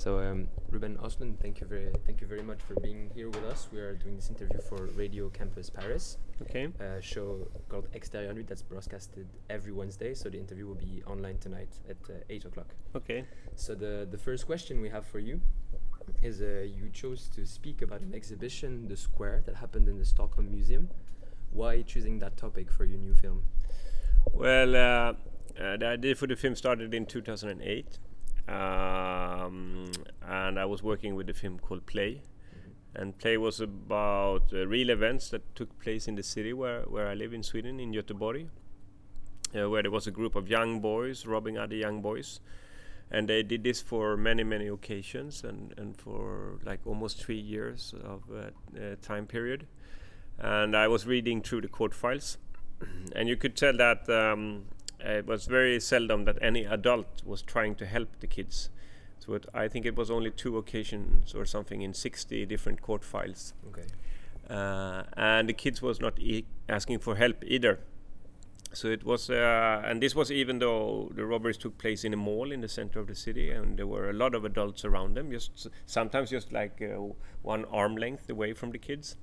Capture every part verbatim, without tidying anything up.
So, um, Ruben Osman, thank you very, thank you very much for being here with us. We are doing this interview for Radio Campus Paris, Okay. a show called Extérieur Nuit that's broadcasted every Wednesday. So the interview will be online tonight at uh, eight o'clock. Okay. So the the first question we have for you is uh, you chose to speak about an exhibition, The Square, that happened in the Stockholm Museum. Why choosing that topic for your new film? Well, uh, uh, the idea for the film started in two thousand eight, um, and I was working with a film called Play. Mm-hmm. And Play was about uh, real events that took place in the city where, where I live in Sweden, in Göteborg, uh, where there was a group of young boys robbing other young boys. And they did this for many, many occasions and, and for like almost three years of uh, uh, time period. And I was reading through the court files, and you could tell that um, it was very seldom that any adult was trying to help the kids. So it, I think it was only two occasions or something in sixty different court files. Okay. Uh, and the kids was not e- asking for help either. So it was, uh, and this was even though the robberies took place in a mall in the center of the city, and there were a lot of adults around them, just sometimes just like uh, one arm length away from the kids.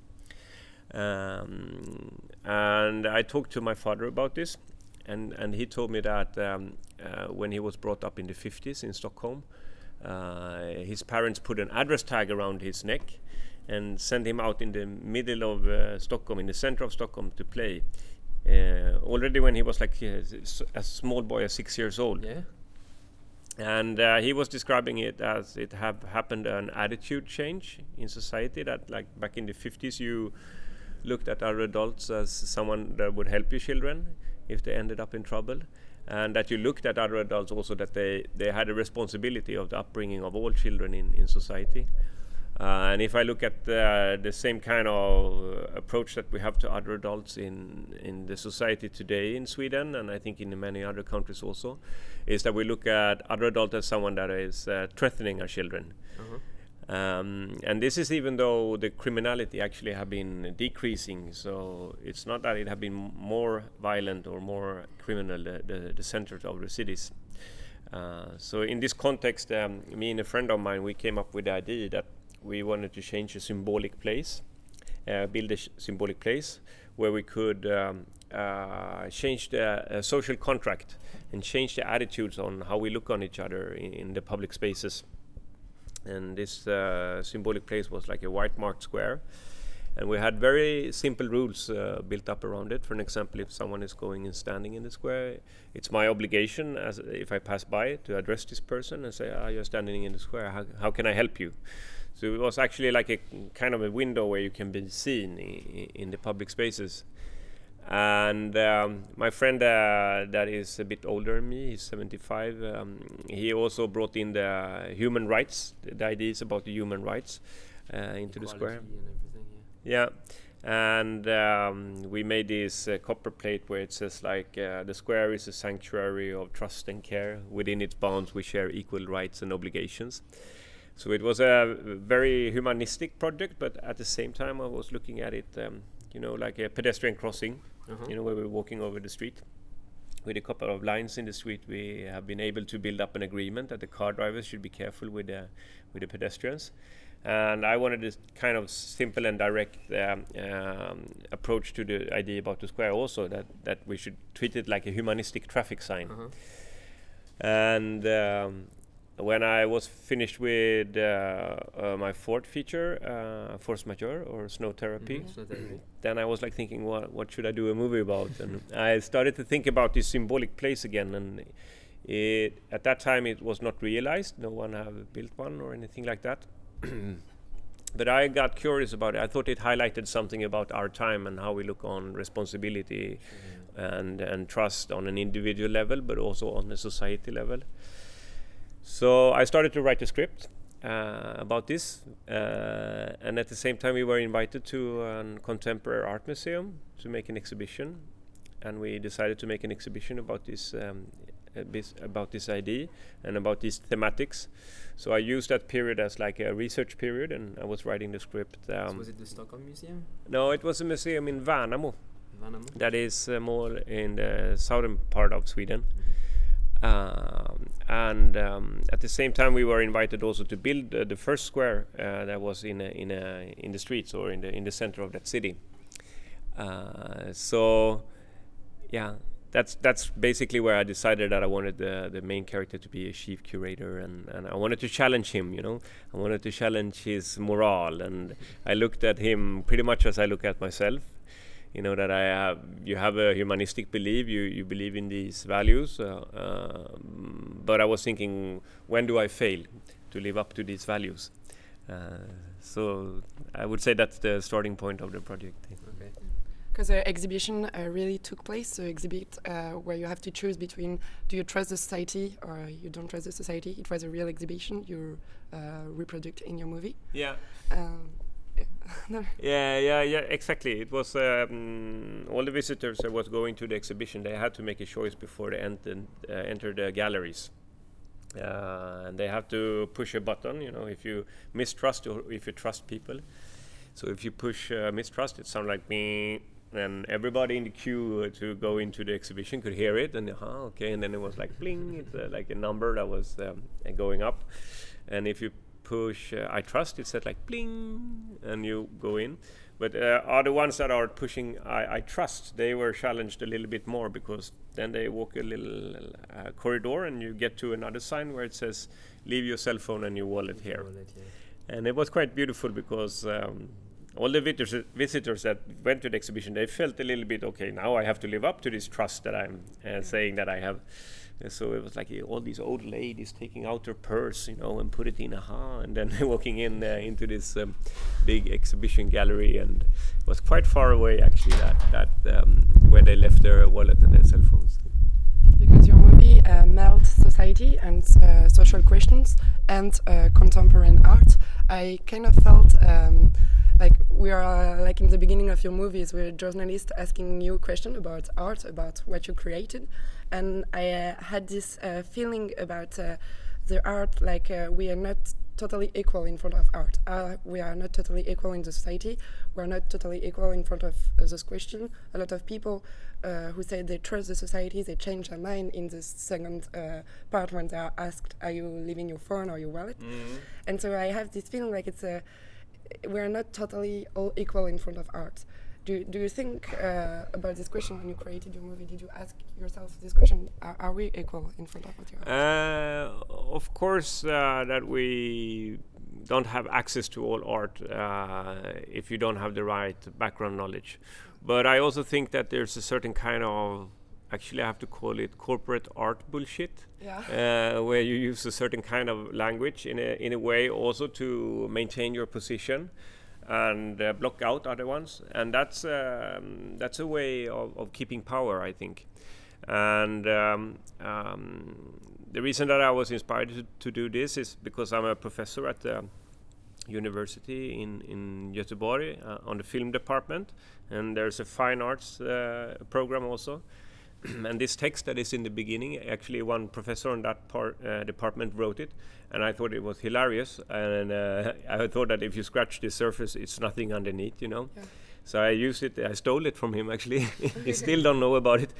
Um, and I talked to my father about this, and, and he told me that um, uh, when he was brought up in the fifties in Stockholm, uh, his parents put an address tag around his neck and sent him out in the middle of uh, Stockholm, in the center of Stockholm, to play. Uh, already when he was like uh, a small boy, uh, six years old. Yeah. And uh, he was describing it as it have happened an attitude change in society, that like back in the fifties you looked at other adults as someone that would help your children if they ended up in trouble, and that you looked at other adults also that they, they had a responsibility of the upbringing of all children in, in society. Uh, and if I look at uh, the same kind of uh, approach that we have to other adults in, in the society today in Sweden, and I think in many other countries also, is that we look at other adults as someone that is uh, threatening our children. Uh-huh. Um, and this is even though the criminality actually have been decreasing, so it's not that it have been more violent or more criminal, the, the, the centers of the cities. Uh, so in this context, um, me and a friend of mine, we came up with the idea that we wanted to change a symbolic place, uh, build a sh- symbolic place where we could um, uh, change the uh, social contract and change the attitudes on how we look on each other in, in the public spaces. And this uh, symbolic place was like a white marked square, and we had very simple rules uh, built up around it. For an example, if someone is going and standing in the square, it's my obligation, as if I pass by, to address this person and say, "Ah, you're standing in the square. How, how can I help you?" So it was actually like a kind of a window where you can be seen I- in the public spaces. And um, my friend uh, that is a bit older than me, he's seventy-five, um, he also brought in the human rights, the ideas about the human rights uh, into Equality the square. And everything, yeah. Yeah, and um, we made this uh, copper plate where it says like uh, the square is a sanctuary of trust and care. Within its bounds we share equal rights and obligations. So it was a very humanistic project, but at the same time I was looking at it, um, you know, like a pedestrian crossing, uh-huh. you know, where we're walking over the street. With a couple of lines in the street, we have been able to build up an agreement that the car drivers should be careful with the, with the pedestrians. And I wanted this kind of simple and direct um, um, approach to the idea about the square also, that, that we should treat it like a humanistic traffic sign. Uh-huh. And um, when I was finished with uh, uh, my fourth feature, uh, Force Majeure or Snow Therapy, Mm-hmm. Snow Therapy. then I was like thinking, what what should I do a movie about? And I started to think about this symbolic place again. And it, at that time, it was not realized. No one have built one or anything like that. But I got curious about it. I thought it highlighted something about our time and how we look on responsibility mm-hmm. and and trust on an individual level, but also on the society level. So I started to write a script uh, about this, uh, and at the same time we were invited to a contemporary art museum to make an exhibition, and we decided to make an exhibition about this um, about this idea and about these thematics. So I used that period as like a research period, and I was writing the script. Um, so was it the Stockholm Museum? No, it was a museum in Värnamo. Värnamo? That is uh, more in the southern part of Sweden. Mm-hmm. Um, and um, at the same time, we were invited also to build uh, the first square uh, that was in a, in a, in the streets or in the in the center of that city. Uh, so, yeah, that's that's basically where I decided that I wanted the the main character to be a chief curator, and, and I wanted to challenge him. You know, I wanted to challenge his morale, and I looked at him pretty much as I look at myself. You know, that I have, you have a humanistic belief, you, you believe in these values, uh, uh, but I was thinking, when do I fail to live up to these values? Uh, so I would say that's the starting point of the project. Okay. Because the exhibition uh, really took place, the exhibit uh, where you have to choose between do you trust the society or you don't trust the society. It was a real exhibition you uh, reproduced in your movie. Yeah. Um, no. Yeah, yeah, yeah, exactly. It was um, all the visitors that was going to the exhibition. They had to make a choice before they entered uh, enter the galleries, uh, and they have to push a button. You know, if you mistrust or if you trust people. So if you push uh, mistrust, it sounds like me. And everybody in the queue uh, to go into the exhibition could hear it, and uh, okay, and then it was like bling. It's uh, like a number that was um, going up, and if you push uh, I trust, it said like bling, and you go in. But uh, are the ones that are pushing I, I trust, they were challenged a little bit more, because then they walk a little uh, corridor and you get to another sign where it says leave your cell phone and your wallet here. Wallet, yeah. And it was quite beautiful, because um, all the visitors, visitors that went to the exhibition, they felt a little bit, okay, now I have to live up to this trust that I'm uh, saying that I have. Uh, so it was like uh, all these old ladies taking out their purse, you know, and put it in, aha, and then walking in uh, into this um, big exhibition gallery, and it was quite far away actually, that that um, where they left their wallet and their cell phones. Because your movie uh, melds society and uh, social questions and uh, contemporary art, I kind of felt um, like we are uh, like in the beginning of your movies, we're journalists asking you questions about art, about what you created, and I uh, had this uh, feeling about uh, the art, like uh, we are not totally equal in front of art. Uh, we are not totally equal in the society. We are not totally equal in front of uh, this question. A lot of people uh, who say they trust the society, they change their mind in the second uh, part when they are asked, are you leaving your phone or your wallet? Mm-hmm. And so I have this feeling like it's a, we are not totally all equal in front of art. Do, do you think uh, about this question when you created your movie? Did you ask yourself this question? Are, are we equal in front of what you are? Uh, of course, uh, that we don't have access to all art uh, if you don't have the right background knowledge. But I also think that there's a certain kind of, actually I have to call it corporate art bullshit, yeah. uh, where you use a certain kind of language in a, in a way also to maintain your position and uh, block out other ones, and that's um, that's a way of, of keeping power, I think. And um, um, the reason that I was inspired to, to do this is because I'm a professor at the university in in Göteborg uh, on the film department, and there's a fine arts uh, program also. And this text that is in the beginning, actually one professor on that part, uh, department wrote it, and I thought it was hilarious, and uh, I thought that if you scratch the surface, it's nothing underneath, you know. Yeah. So I used it, I stole it from him actually. He still don't know about it.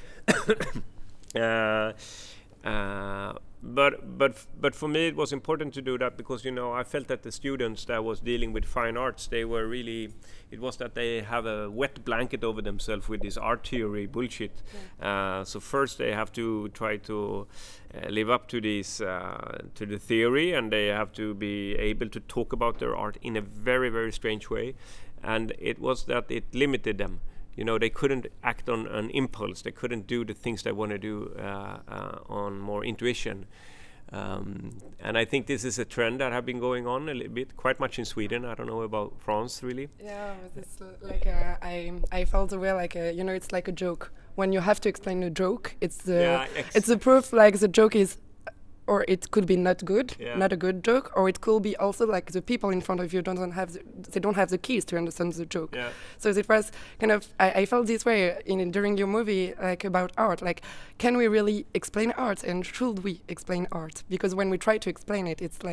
uh, uh, but but f- but for me it was important to do that, because you know I felt that the students that was dealing with fine arts, they were really, it was that they have a wet blanket over themselves with this art theory bullshit. Yeah. Uh, so first they have to try to uh, live up to this uh, to the theory, and they have to be able to talk about their art in a very very strange way, and it was that it limited them. You know, they couldn't act on an impulse. They couldn't do the things they want to do uh, uh, on more intuition. Um, and I think this is a trend that have been going on a little bit, quite much in Sweden. I don't know about France, really. Yeah, it's like uh, I I felt aware, like a, you know, it's like a joke. When you have to explain a joke, it's the yeah, ex- it's the proof. Like the joke is, or it could be not good, yeah. not a good joke, or it could be also like the people in front of you don't have the, they don't have the keys to understand the joke. Yeah. So it was kind of I, I felt this way in during your movie, like about art. Like, can we really explain art, and should we explain art? Because when we try to explain it, it's like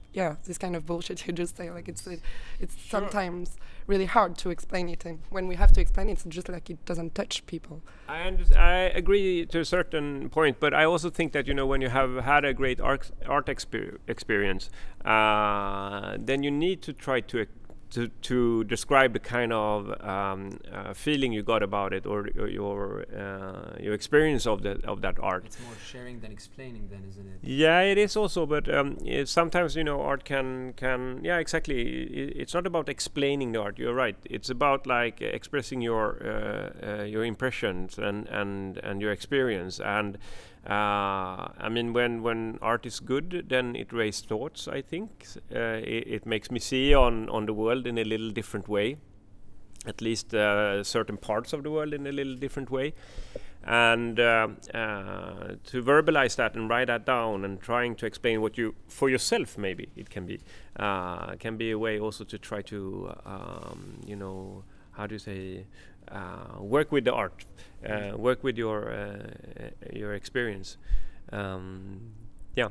yeah, this kind of bullshit you just say. Like it's it, it's Sure. sometimes really hard to explain it, and when we have to explain it, it's just like it doesn't touch people. I under- I agree to a certain point, but I also think that, you know, when you have had a great art art exper- experience, uh, then you need to try to ex- to to describe the kind of um, uh, feeling you got about it, or, or your uh, your experience of the of that art. It's more sharing than explaining, then, isn't it? Yeah, it is also, but um, it, sometimes, you know, art can can yeah, exactly. I it's not about explaining the art. You're right. It's about like expressing your uh, uh, your impressions and and and your experience. And uh, I mean, when when art is good, then it raises thoughts. I think uh, it, it makes me see on on the world in a little different way. At least uh, certain parts of the world in a little different way. And uh, uh, to verbalize that and write that down and trying to explain what you for yourself, maybe it can be uh, can be a way also to try to um, you know, how do you say, uh, work with the art, uh, work with your uh, your experience. Um, yeah.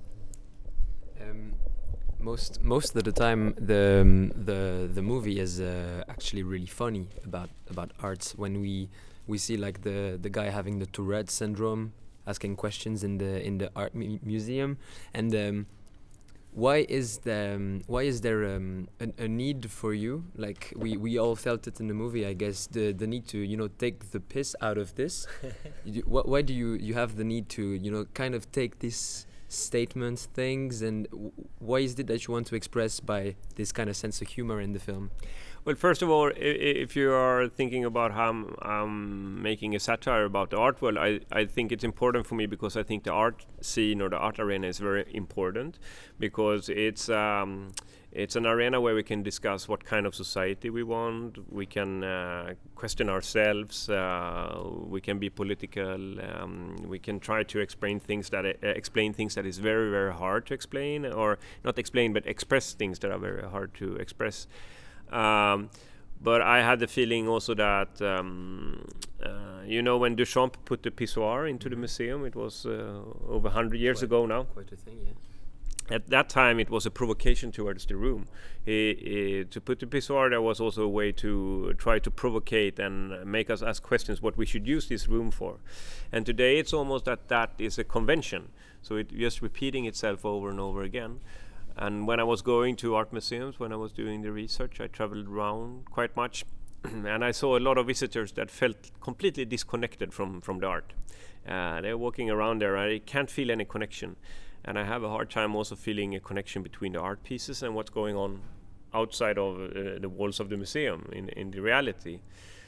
Um, most most of the time, the um, the the movie is uh, actually really funny about about arts. When we we see like the the guy having the Tourette syndrome, asking questions in the in the art mu- museum, and um, why is the um, why is there um, a, a need for you? Like we, we all felt it in the movie, I guess. The the need to, you know, take the piss out of this. you, wh- why do you you have the need to, you know, kind of take these statements, things, and w- why is it that you want to express by this kind of sense of humor in the film? Well, first of all, I- I- if you are thinking about how I'm um, making a satire about the art world, I, I think it's important for me because I think the art scene or the art arena is very important, because it's um, it's an arena where we can discuss what kind of society we want. We can uh, question ourselves. Uh, we can be political. Um, we can try to explain things that uh, explain things that is very very hard to explain, or not explain, but express things that are very hard to express. Um, but I had the feeling also that, um, uh, you know, when Duchamp put the pissoir into the museum, it was uh, over one hundred years Quite- ago now. Quite a thing, yeah. At that time, it was a provocation towards the room. He, he, to put the pissoir there was also a way to try to provocate and make us ask questions what we should use this room for. And today it's almost that that is a convention. So it's just repeating itself over and over again. And when I was going to art museums, when I was doing the research, I traveled around quite much. And I saw a lot of visitors that felt completely disconnected from, from the art. Uh, they're walking around there, I can't feel any connection. And I have a hard time also feeling a connection between the art pieces and what's going on outside of uh, the walls of the museum in, in the reality.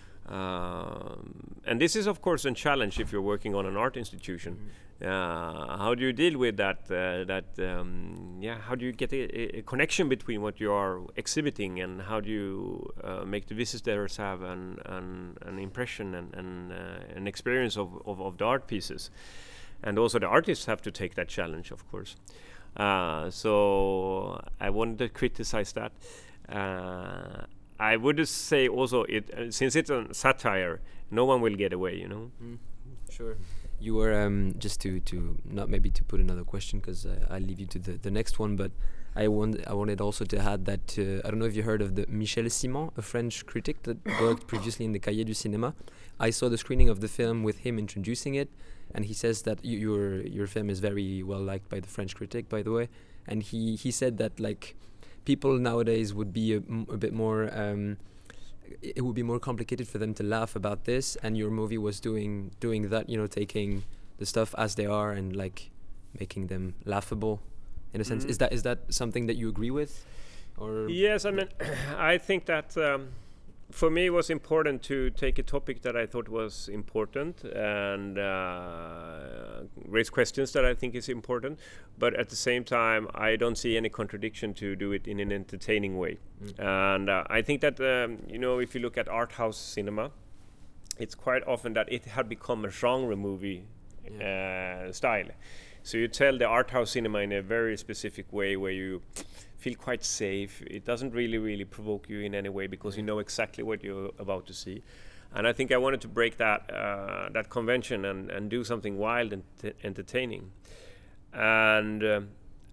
Um, and this is, of course, a challenge if you're working on an art institution. Mm-hmm. Uh, how do you deal with that? Uh, that um, yeah, how do you get a, a connection between what you are exhibiting, and how do you uh, make the visitors have an an, an impression and, and uh, an experience of, of, of the art pieces? And also the artists have to take that challenge, of course. Uh, so I wanted to criticize that. Uh, I would say also, it uh, since it's a satire, no one will get away, you know. Mm, sure. You were um, just to to not maybe to put another question, because uh, I'll leave you to the, the next one, but I want I wanted also to add that uh, I don't know if you heard of the Michel Simon, a French critic that worked previously in the Cahiers du Cinéma. I saw the screening of the film with him introducing it, and he says that y- your your film is very well liked by the French critic, by the way, and he he said that like people nowadays would be a, m- a bit more. Um, it would be more complicated for them to laugh about this, and your movie was doing doing that, you know, taking the stuff as they are and like making them laughable in a sense. Mm. Is that is that something that you agree with, or? Yes, I mean, I think that um, for me it was important to take a topic that I thought was important and uh, raise questions that I think is important, but at the same time I don't see any contradiction to do it in an entertaining way. Mm. And uh, I think that um, you know, if you look at art house cinema, it's quite often that it had become a genre movie yeah. uh, style. So you tell the art house cinema in a very specific way where you feel quite safe. It doesn't really, really provoke you in any way because you know exactly what you're about to see. And I think I wanted to break that uh, that convention and, and do something wild and t- entertaining. And um,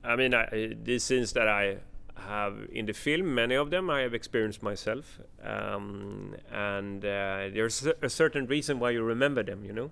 I mean, I, these scenes that I have in the film, many of them I have experienced myself, um, and uh, there's a certain reason why you remember them, you know,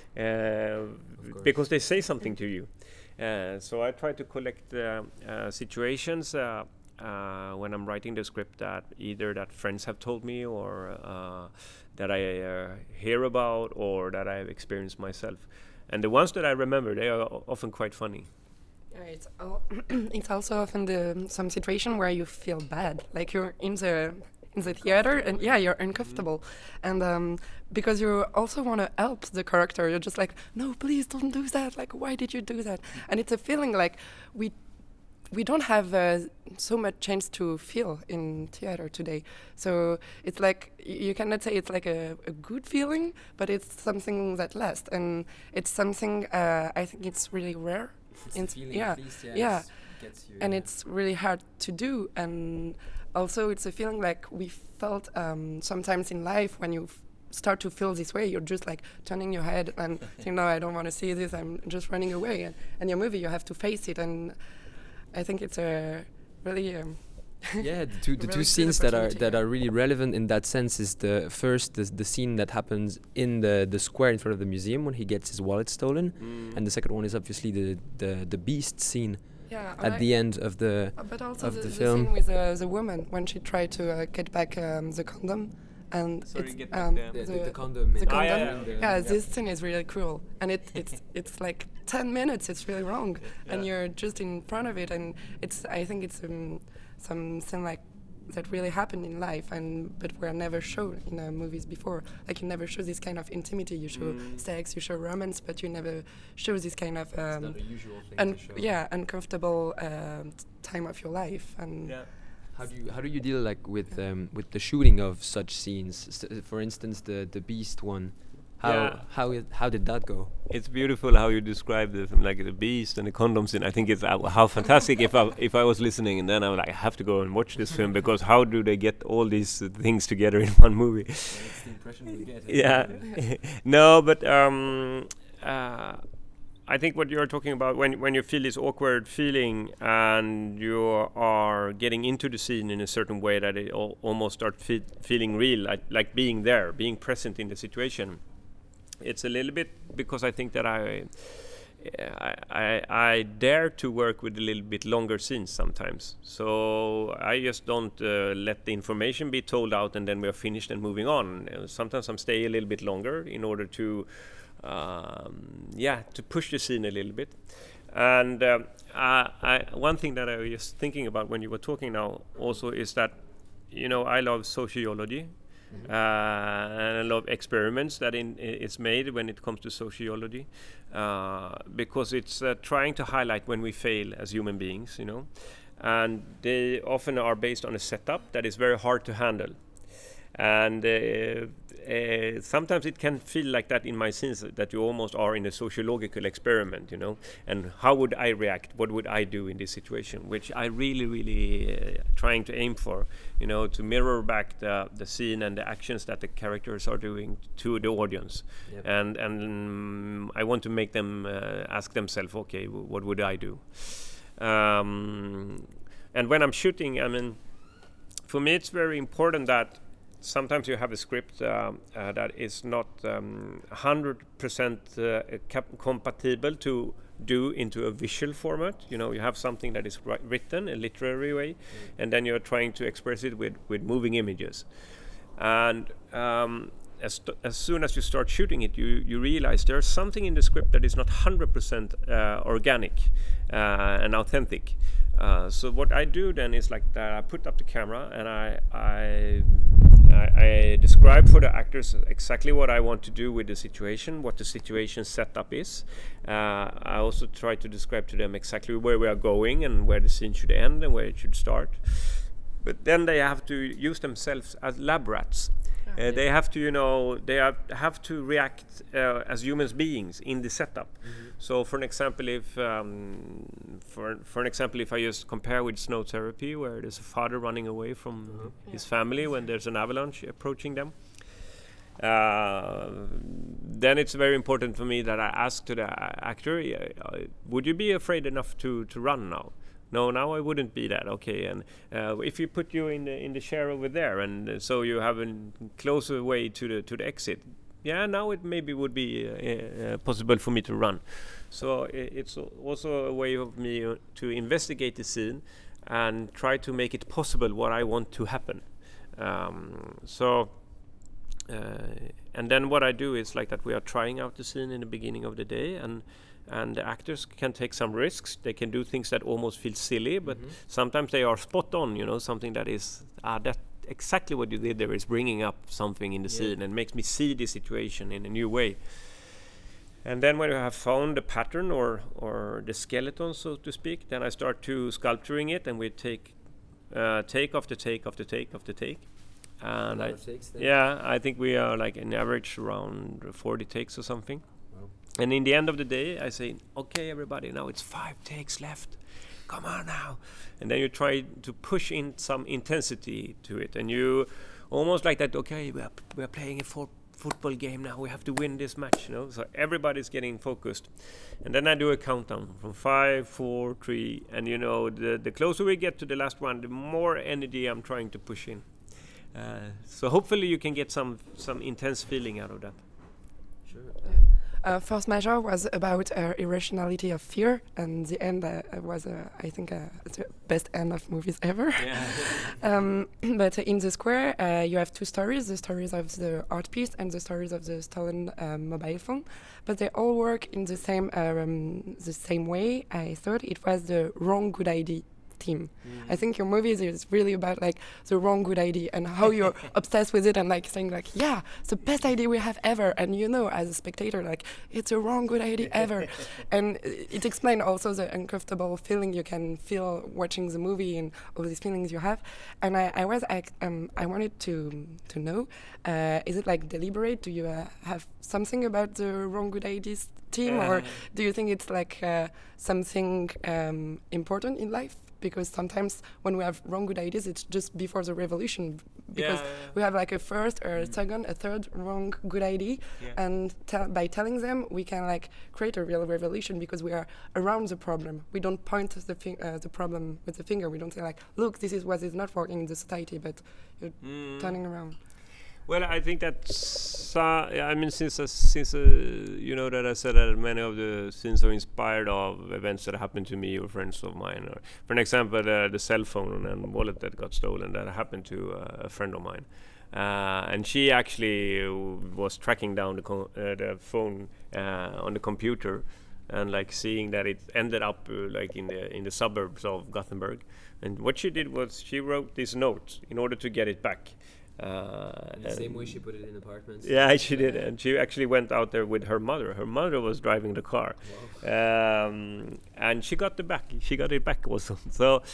uh, because they say something to you. Uh, so I try to collect uh, uh, situations uh, uh, when I'm writing the script that either that friends have told me, or uh, that I uh, hear about, or that I have experienced myself. And the ones that I remember, they are often quite funny. Yeah, it's al it's also often the some situation where you feel bad, like you're in the in the theater and yeah, you're uncomfortable, mm-hmm. and um, because you also want to help the character, you're just like, no, please don't do that. Like, why did you do that? And it's a feeling like we we don't have uh, so much chance to feel in theater today. So it's like you cannot say it's like a, a good feeling, but it's something that lasts, and it's something uh, I think it's really rare. It's feeling, yeah, least, yeah, yeah. Gets you, and yeah. It's really hard to do, and also it's a feeling like we felt um, sometimes in life when you f start to feel this way, you're just like turning your head and saying, no, I don't want to see this, I'm just running away, and, and your movie, you have to face it, and I think it's a really um, yeah, the two the really two scenes that are that yeah. are really relevant in that sense is the first the, the scene that happens in the the square in front of the museum when he gets his wallet stolen, mm. and the second one is obviously the the the beast scene yeah, at the end of the uh, but also of the, the, the film. scene with uh, the woman when she tried to uh, get back um, the condom, and Sorry, it's get back um, the- the, the, the, the condom. the in- condom. Ah, yeah, in the- yeah, this scene is really cruel, and it it's it's like ten minutes. It's really long, and Yeah. you're just in front of it, and it's I think it's um, something like that really happened in life, and but were never shown in uh, movies before. Like you never show this kind of intimity. You show Mm. sex, you show romance, but you never show this kind of It's um, not a usual thing un- to show. yeah uncomfortable um, t- time of your life, and Yeah. How do you how do you deal like with um, with the shooting of such scenes? S for instance, the the beast one. How Yeah. how it, how did that go? It's beautiful how you describe the like the beast and the condoms, and I think it's uh, how fantastic. If I if I was listening, and then I was like, I have to go and watch this film, because how do they get all these uh, things together in one movie? That's the impression we get. Yeah. No, but um, uh, I think what you're talking about when when you feel this awkward feeling and you are getting into the scene in a certain way that it al almost start fe feeling real, like like being there, being present in the situation. It's a little bit because I think that I, I, I, I dare to work with a little bit longer scenes sometimes. So I just don't uh, let the information be told out and then we are finished and moving on. Uh, sometimes I'm staying a little bit longer in order to, um, yeah, to push the scene a little bit. And um, I, I, one thing that I was thinking about when you were talking now also is that, you know, I love sociology. Mm-hmm. uh, and a lot of experiments that in, is made when it comes to sociology, uh, because it's uh, trying to highlight when we fail as human beings, you know, and they often are based on a setup that is very hard to handle. And uh, uh, sometimes it can feel like that in my scenes, that you almost are in a sociological experiment, you know, and how would I react? What would I do in this situation? Which I really, really uh, trying to aim for, you know, to mirror back the, the scene and the actions that the characters are doing to the audience. Yep. And, and um, I want to make them uh, ask themselves, okay, w what would I do? Um, and when I'm shooting, I mean, for me it's very important that sometimes you have a script uh, uh, that is not um, one hundred percent uh, compatible to do into a visual format. You know, you have something that is written a literary way, mm. and then you're trying to express it with, with moving images. And um, as, as soon as you start shooting it, you, you realize there's something in the script that is not one hundred percent uh, organic uh, and authentic. Uh, so what I do then is like that, I put up the camera and I, I I, I describe for the actors exactly what I want to do with the situation, what the situation setup is. Uh, I also try to describe to them exactly where we are going and where the scene should end and where it should start. But then they have to use themselves as lab rats. Uh, they have to, you know, they have, have to react uh, as human beings in the setup. Mm-hmm. So, for an example, if um, for for an example, if I just compare with Snow Therapy, where there's a father running away from mm-hmm. his yeah. family when there's an avalanche approaching them, uh, then it's very important for me that I ask to the actor, uh, would you be afraid enough to to run now? No, now I wouldn't be that. Okay, and uh, if you put you in the in the chair over there, and uh, so you have a closer way to the to the exit. Yeah, now it maybe would be uh, uh, possible for me to run. So I it's also a way of me uh, to investigate the scene and try to make it possible what I want to happen. Um, so. Uh, and then what I do is like that we are trying out the scene in the beginning of the day, and and the actors can take some risks. They can do things that almost feel silly, but mm-hmm. sometimes they are spot on, you know, something that is ah that exactly what you did there is bringing up something in the yeah. scene and makes me see the situation in a new way. And then when you have found the pattern or or the skeleton, so to speak, then I start to sculpturing it, and we take uh, take after take after take after take. And I, yeah, I think we are like an average around forty takes or something. Wow. And in the end of the day, I say, okay, everybody, now it's five takes left. Come on now. And then you try to push in some intensity to it. And you almost like that, okay, we are, p- we are playing a for- football game now. We have to win this match, you know. So everybody's getting focused. And then I do a countdown from five, four, three. And, you know, the, the closer we get to the last one, the more energy I'm trying to push in. Uh, so hopefully you can get some some intense feeling out of that. Sure. Uh, Force Majeure was about uh, irrationality of fear, and the end uh, was, uh, I think, uh, the best end of movies ever. Yeah. um, but in the square, uh, you have two stories: the stories of the art piece and the stories of the stolen uh, mobile phone. But they all work in the same um, the same way. I thought it was the wrong good idea. Team. Mm. I think your movies is really about like the wrong good idea and how you're obsessed with it and like saying like, yeah, it's the best idea we have ever, and you know as a spectator like it's a wrong good idea ever. And it explains also the uncomfortable feeling you can feel watching the movie and all these feelings you have. And I, I was I, um, I wanted to to know, uh, is it like deliberate? Do you uh, have something about the wrong good ideas team, uh. or do you think it's like uh, something um, important in life? Because sometimes when we have wrong good ideas, it's just before the revolution. Because yeah, yeah. we have like a first or a mm. second, a third wrong good idea, yeah. and te- by telling them, we can like create a real revolution because we are around the problem. We don't point the fi- uh, the problem with the finger. We don't say like, look, this is what is not working in the society, but you're mm. turning around. Well, I think that's, uh, I mean, since, uh, since uh, you know that I said that many of the scenes are inspired of events that happened to me or friends of mine. Or for an example, uh, the cell phone and wallet that got stolen, that happened to uh, a friend of mine. Uh, and she actually was tracking down the, co- uh, the phone uh, on the computer and like seeing that it ended up uh, like in the in the suburbs of Gothenburg. And what she did was she wrote this note in order to get it back. Uh, the same way she put it in apartments. Yeah, she did, and she actually went out there with her mother. Her mother was driving the car, wow. um, and she got the back. She got it back also. So,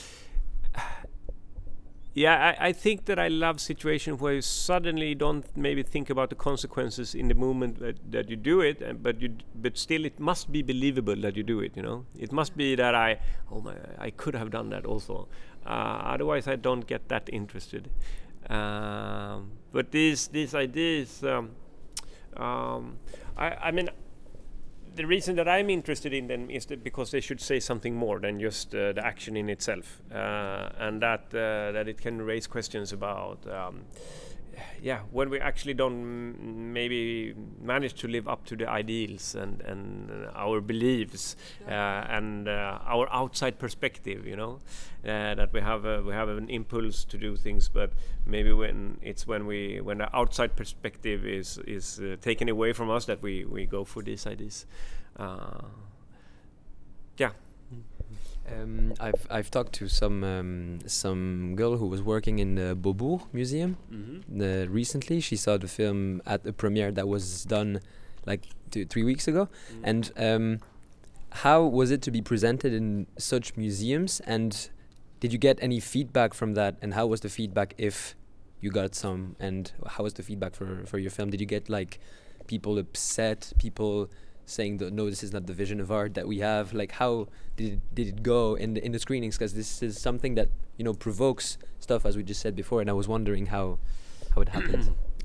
yeah, I, I think that I love situations where you suddenly don't maybe think about the consequences in the moment that, that you do it, and, but you, but still it must be believable that you do it. You know, it must be that I, oh my, I could have done that also. Uh, otherwise, I don't get that interested. Um, but these these ideas, um, um, I, I mean, the reason that I'm interested in them is that because they should say something more than just uh, the action in itself, uh, and that uh, that it can raise questions about, um, yeah, when we actually don't m- maybe manage to live up to the ideals and and uh, our beliefs uh, and uh, our outside perspective, you know, uh, that we have a, we have an impulse to do things, but maybe when it's when we when the outside perspective is is uh, taken away from us that we we go for these ideas. Uh, yeah. Um, I've I've talked to some um, some girl who was working in the Beaubourg Museum mm-hmm. uh, recently. She saw the film at a premiere that was done like two, three weeks ago. Mm-hmm. And um, how was it to be presented in such museums? And did you get any feedback from that? And how was the feedback, if you got some? And how was the feedback for, for your film? Did you get like people upset, people saying that no, this is not the vision of art that we have? Like, how did it, did it go in the in the screenings? Because this is something that, you know, provokes stuff, as we just said before, and I was wondering how how it happened.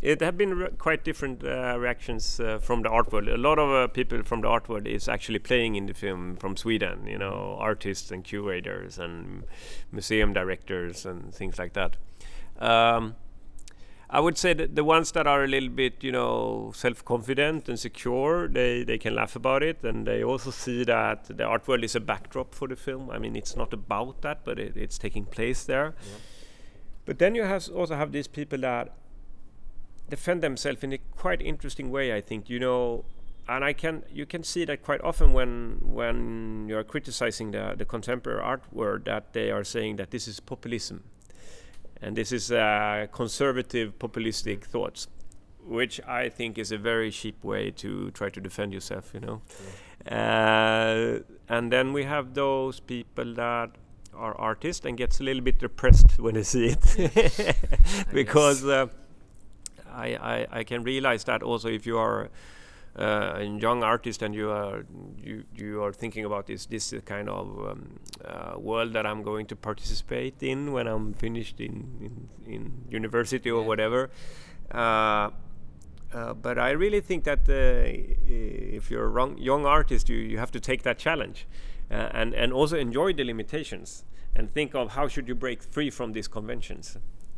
it have been re- quite different uh, reactions uh, from the art world. A lot of uh, people from the art world is actually playing in the film from Sweden, you know, artists and curators and museum directors and things like that. Um, I would say that the ones that are a little bit, you know, self-confident and secure, they, they can laugh about it, and they also see that the art world is a backdrop for the film. I mean, it's not about that, but it, it's taking place there. Yeah. But then you have also have these people that defend themselves in a quite interesting way, I think, you know, and I can you can see that quite often when when you are criticizing the, the contemporary art world, that they are saying that this is populism. And this is uh, conservative, populistic thoughts, which I think is a very cheap way to try to defend yourself, you know. Yeah. Uh, and then we have those people that are artists and gets a little bit depressed when they see it, because uh, I, I I can realize that also if you are uh, a young artist and you are you you are thinking about this this kind of um, uh, world that I'm going to participate in when I'm finished in in, in university or yeah. whatever. Uh, uh, but I really think that uh, if you're a wrong, young artist, you, you have to take that challenge uh, and and also enjoy the limitations and think of how should you break free from these conventions.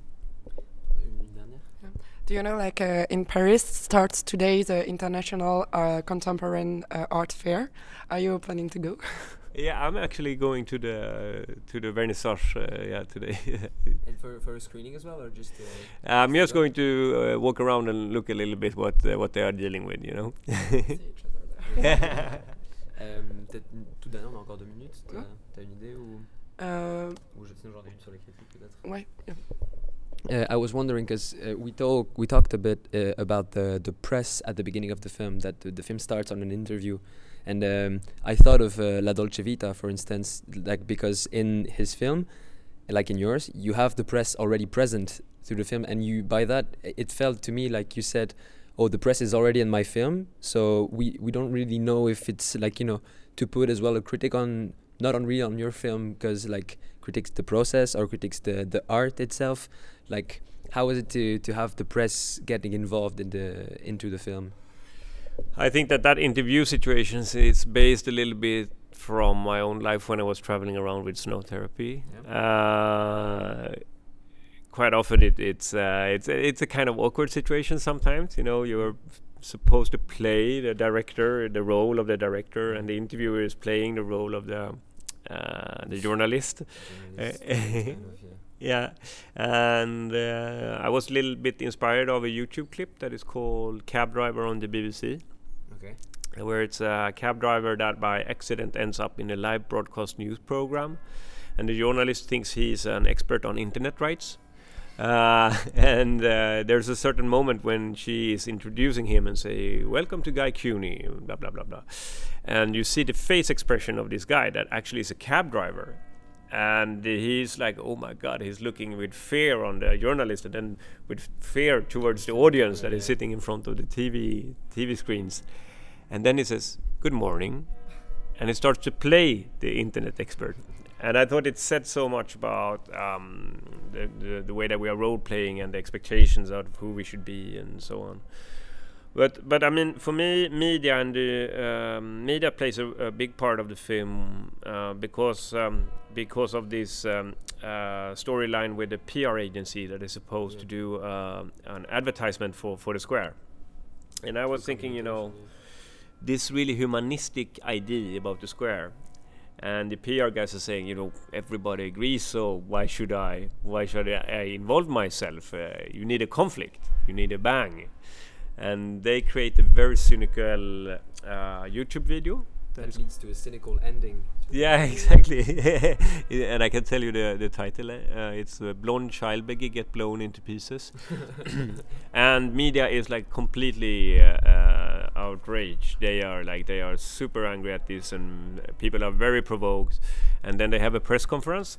Do you know, like uh, in Paris starts today the International uh, Contemporary uh, Art Fair? Are you planning to go? Yeah, I'm actually going to the to the vernissage. Uh, yeah, today. And for for a screening as well, or just? Uh, I'm just going to uh, walk around and look a little bit what uh, what they are dealing with, you know. euh, peut-être tout dernier, on a encore deux minutes. T'as, t'as une idée ou? Euh, ou sinon j'en ai une sur les critiques peut-être. Ouais. Yeah. Uh, I was wondering because uh, we talk we talked a bit uh, about the the press at the beginning of the film, that the, the film starts on an interview, and um, I thought of uh, La Dolce Vita, for instance, like because in his film, like in yours, you have the press already present through the film, and you by that it felt to me like you said, oh, the press is already in my film, so we we don't really know if it's like, you know, to put as well a critic on, not on really on your film, because like critiques the process or critiques the the art itself. Like, how is it to to have the press getting involved in the into the film? I think that that interview situation is based a little bit from my own life when I was traveling around with snow therapy. Yeah. Uh, quite often it, it's uh, it's it's a kind of awkward situation sometimes. You know, you're supposed to play the director, the role of the director, and the interviewer is playing the role of the uh, the journalist. journalist uh, kind of, yeah. Yeah, and uh, I was a little bit inspired of a YouTube clip that is called Cab Driver on the B B C. Okay. Where it's a cab driver that by accident ends up in a live broadcast news program, and the journalist thinks he's an expert on internet rights. Uh, and uh, there's a certain moment when she is introducing him and say, "Welcome to Guy Cuny," blah blah blah blah, and you see the face expression of this guy that actually is a cab driver. And he's like, oh my God, he's looking with fear on the journalist and then with fear towards the audience that is sitting in front of the T V T V screens. And then he says, "Good morning." And he starts to play the internet expert. And I thought it said so much about um, the, the, the way that we are role-playing and the expectations of who we should be and so on. But but I mean, for me, media and the um, media plays a, a big part of the film uh, because um, because of this um, uh, storyline with the P R agency that is supposed yeah. to do uh, an advertisement for, for the square. And I was it's thinking, you know, yeah. this really humanistic idea about the square, and the P R guys are saying, you know, everybody agrees, so why should I? Why should I, I involve myself? Uh, you need a conflict. You need a bang. And they create a very cynical uh, YouTube video that, that leads to a cynical ending. Yeah, exactly. And I can tell you the the title. Uh, it's uh, "Blonde Child Beggy Get Blown into Pieces," and media is like completely uh, uh, outraged. They are like they are super angry at this, and people are very provoked. And then they have a press conference.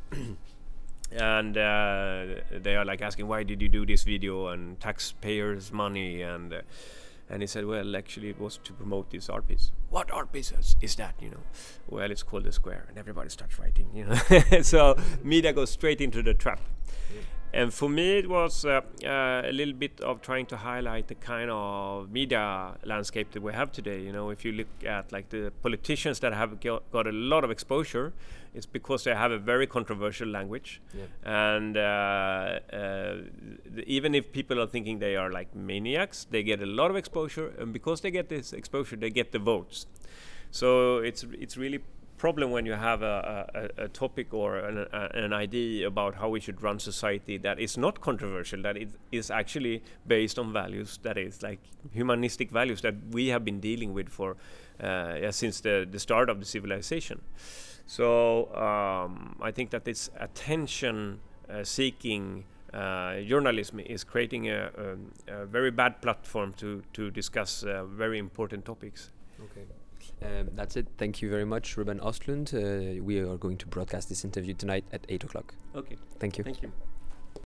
And uh, they are like asking, why did you do this video, and taxpayers' money, and uh, and he said, well, actually it was to promote this art piece. What art piece is, is that, you know? Well, it's called The Square, and everybody starts writing, you know. So media goes straight into the trap. Yeah. and for me, it was uh, uh, a little bit of trying to highlight the kind of media landscape that we have today. You know, if you look at like the politicians that have got, got a lot of exposure, it's because they have a very controversial language, yeah. and uh, uh, th- even if people are thinking they are like maniacs, they get a lot of exposure, and because they get this exposure, they get the votes. So it's it's really problem when you have a, a, a topic or an, a, an idea about how we should run society that is not controversial, that it is actually based on values, that is like humanistic values that we have been dealing with for uh, yeah, since the, the start of the civilization. So um, I think that this attention uh, seeking uh, journalism is creating a, a, a very bad platform to, to discuss uh, very important topics. Okay. Um, that's it. Thank you very much, Ruben Östlund. Uh, we are going to broadcast this interview tonight at eight o'clock. Okay. Thank you. Thank you.